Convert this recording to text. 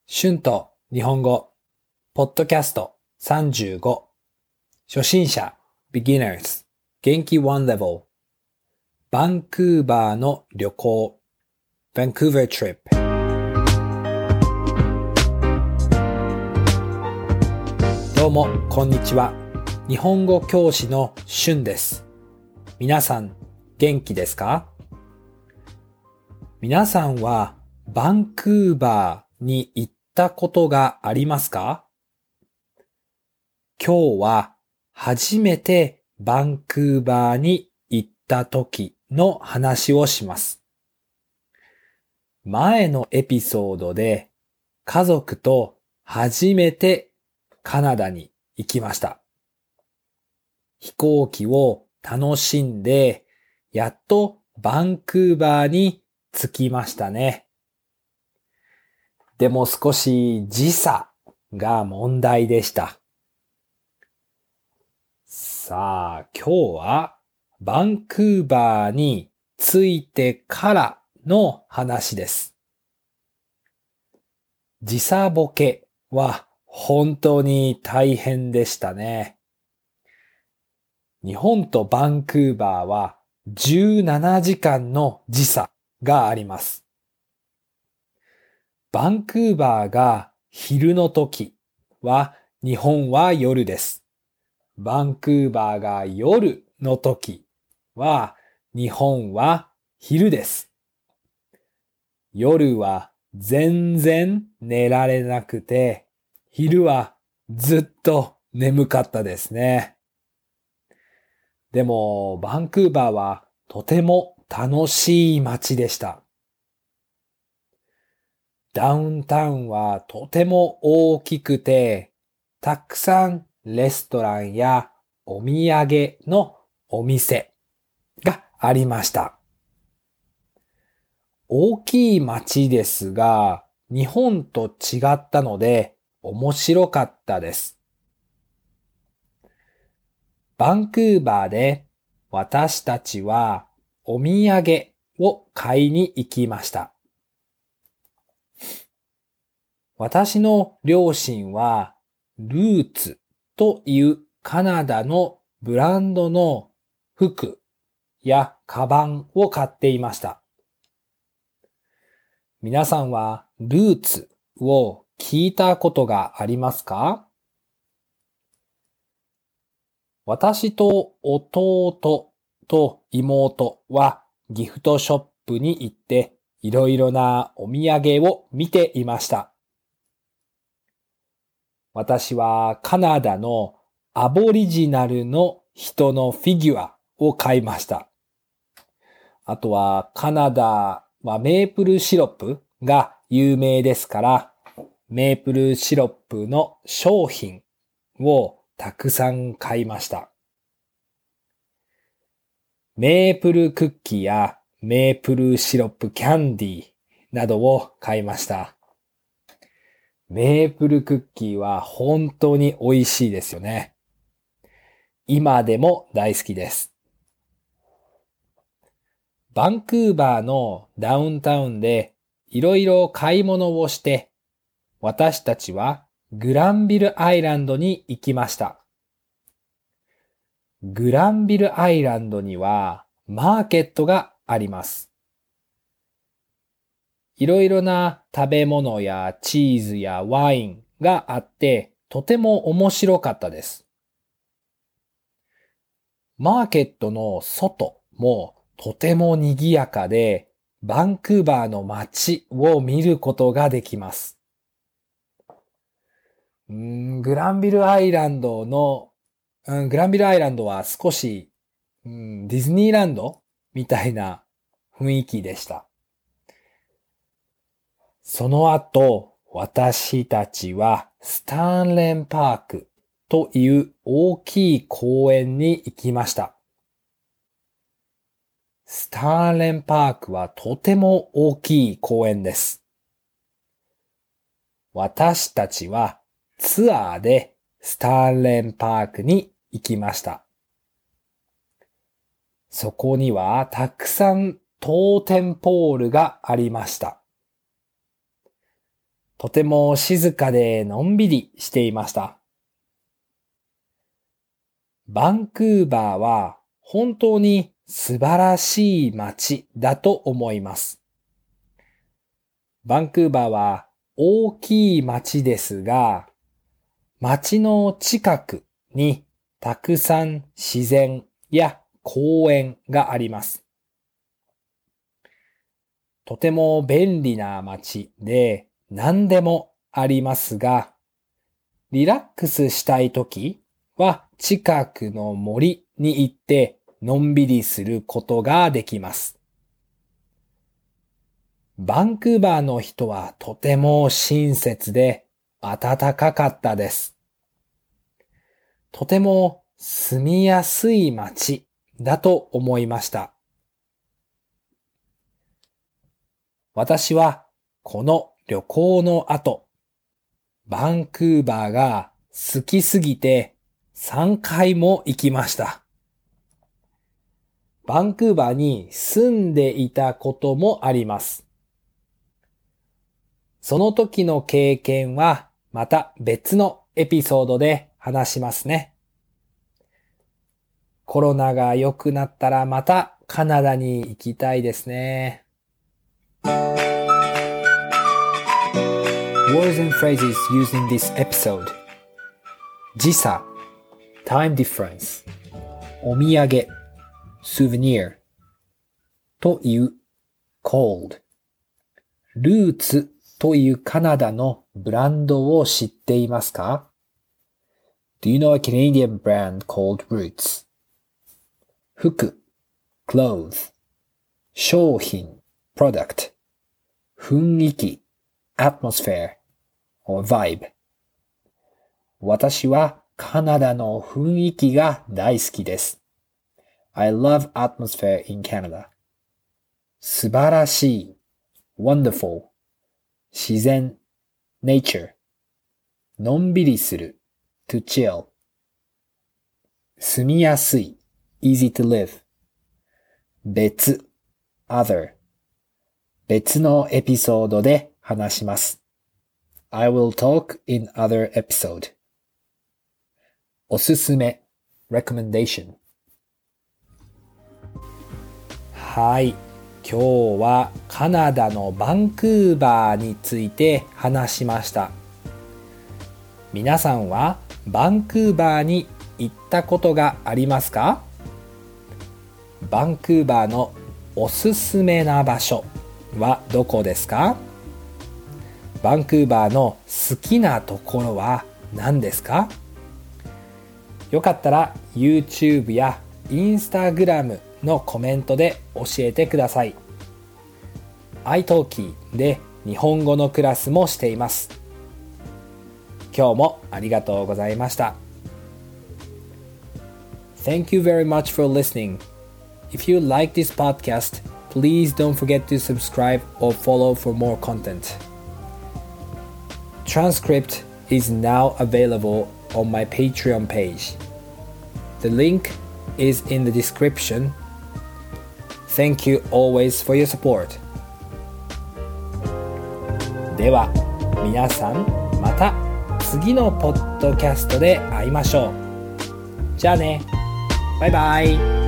春と日本語、ポッドキャスト35、初心者、beginners、元気 one level、バンクーバーの旅行、Vancouver trip。どうも、こんにちは。日本語教師の春です。皆さん、元気ですか？皆さんは、バンクーバーに行ったことがありますか？今日は初めてバンクーバーに行った時の話をします。前のエピソードで家族と初めてカナダに行きました。飛行機を楽しんでやっとバンクーバーに着きましたね。でも少し時差が問題でした。さあ、今日はバンクーバーに着いてからの話です。時差ボケは本当に大変でしたね。日本とバンクーバーは17時間の時差があります。バンクーバーが昼の時は日本は夜です。バンクーバーが夜の時は日本は昼です。夜は全然寝られなくて、昼はずっと眠かったですね。でもバンクーバーはとても楽しい街でした。ダウンタウンはとても大きくて、たくさんレストランやお土産のお店がありました。大きい街ですが、日本と違ったので面白かったです。バンクーバーで私たちはお土産を買いに行きました。私の両親はルーツというカナダのブランドの服やカバンを買っていました。皆さんはルーツを聞いたことがありますか？私と弟と妹はギフトショップに行っていろいろなお土産を見ていました。私はカナダのアボリジナルの人のフィギュアを買いました。あとはカナダはメープルシロップが有名ですから、メープルシロップの商品をたくさん買いました。メープルクッキーやメープルシロップキャンディーなどを買いました。メープルクッキーは本当に美味しいですよね。今でも大好きです。バンクーバーのダウンタウンでいろいろ買い物をして、私たちはグランビルアイランドに行きました。グランビルアイランドにはマーケットがあります。いろいろな食べ物やチーズやワインがあってとても面白かったです。マーケットの外もとても賑やかでバンクーバーの街を見ることができます。グランビルアイランドは少し、ディズニーランドみたいな雰囲気でした。その後、私たちはスタンレンパークという大きい公園に行きました。スタンレンパークはとても大きい公園です。私たちはツアーでスタンレンパークに行きました。そこにはたくさんトーテンポールがありました。 とても静かでのんびりしていました。バンクーバーは本当に素晴らしい街だと思います。バンクーバーは大きい街ですが、街の近くにたくさん自然や公園があります。とても便利な街で何でもありますが、リラックスしたいときは近くの森に行ってのんびりすることができます。バンクーバーの人はとても親切で暖かかったです。とても住みやすい街だと思いました。私はこの旅行の後、バンクーバーが好きすぎて3回も行きました。バンクーバーに住んでいたこともあります。その時の経験はまた別のエピソードで話しますね。コロナが良くなったらまたカナダに行きたいですね。Words and phrases used in this episode. 時差 time difference お土産 souvenir というcold ルーツというカナダのブランドを知っていますか？ Do you know a Canadian brand called Roots? 服 clothes 商品 product 雰囲気 atmosphere or vibe 私はカナダの雰囲気が大好きです。I love atmosphere in Canada. 素晴らしい wonderful 自然 nature のんびりする to chill 住みやすい easy to live 別 other 別のエピソードで話します。I will talk in other episode. おすすめ recommendation はい、今日はカナダのバンクーバーについて話しました。皆さんはバンクーバーに行ったことがありますか？バンクーバーのおすすめな場所はどこですか？バンクーバーの好きなところは何ですか？よかったら YouTube や Instagram のコメントで教えてください。iTalki で日本語のクラスもしています。今日もありがとうございました。Thank you very much for listening. If you like this podcast, please don't forget to subscribe or follow for more content. Transcript is now available on my Patreon page. The link is in the description. Thank you always for your support. では皆さんまた次のポッドキャストで会いましょう。じゃあね。バイバイ。